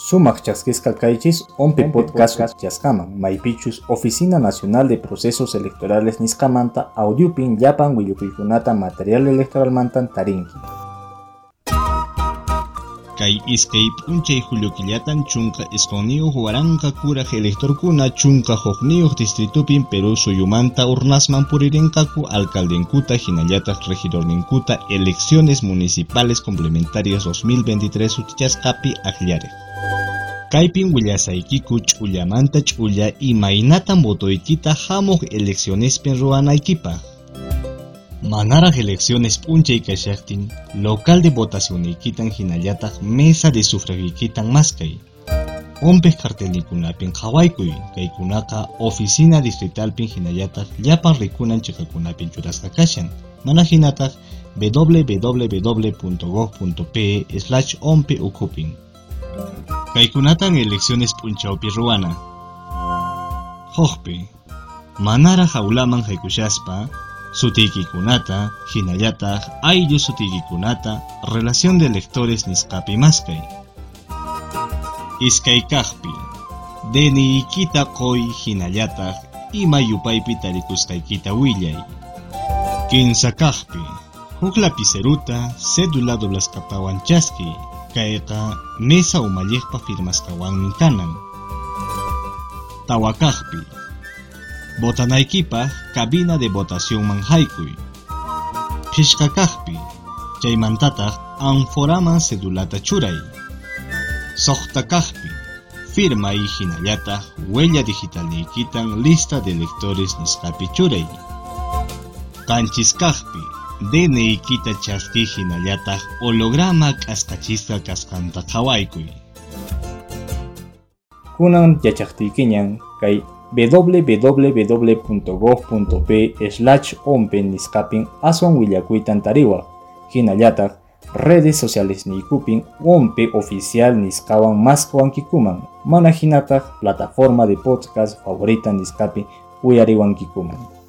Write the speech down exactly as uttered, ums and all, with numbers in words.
Sumaq chasquisqa kaychis onpi podcast chaskaman maypichus Oficina Nacional de Procesos Electorales nisqamanta audiopin llapan willukuykunata material electoral mantan tarinki. Kay iskay p'unchay julio killatan chunka isquniyuq waranqa kuraq electorkuna chunka huqniyuq distritupin Perú suyumanta urnasman puririnqaku alcaldenkuta hinallataq regidorninkuta elecciones municipales complementarias dos mil veintitrés utichasqapi aqllariq. Kaypin willasaykiku ch'ullamanta ch'ulla imaynatan votoykita hamuq eleccionespin ruwanaykipaq. Manaraq elecciones p'unchay kashaqtin local de votacionaykitan hinallataq mesa de sufragiykitan maskay. Onpiq cartelnikunapin qhawaykuy, kaykunaqa oficina distritalpin hinallataq llapan rikunan chiqakunapin churasqa kashan. Mana hinataq w w w punto gov punto pe slash onpi ukupin. Kaykunatan elecciones p'unchawpi ruwana. Hoqpi, manaraq hawlaman haykushaspa, sutiykikunata, hinallataq ayllu sutiykikunata, relación de electores nisqapi maskay. Iskay kaqpi, D N I-kita qoy hinallataq ima yupaypi tarikusqaykita willay. Kinsa kaqpi, huk lapiceruta, cédula doblasqatawan chaski, kayqa mesa umalliqpa firmasqawanmi kanan. Tawa kaqpi, votanaykipaq cabina de votación man haykuy. Phishqa kaqpi, chaymantataq anforaman cedulata churay. Soqta kaqpi, firma y hinallataq huella digitalniykitan lista de electores nisqapi churay. Qanchis kaqpi, D N I-kita chaski hinallataq holograma k'asqachisqa kasqanta qhawaykuy. Kunan yachaqtiykiñan kay w w w punto gov punto pe slash onpi nisqapin aswan willakuytan tariwaq. Hinallataq redes sociales niykupin onpi oficial nisqawan masqawankikuman. Mana hinataq plataforma de podcast favorita nisqapi uyariwankikuman.